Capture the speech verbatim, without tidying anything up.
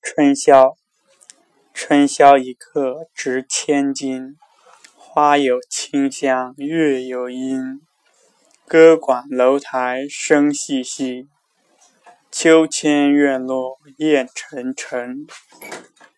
春宵，春宵一刻值千金。花有清香，月有阴。歌管楼台声细细，秋千院落雁沉沉。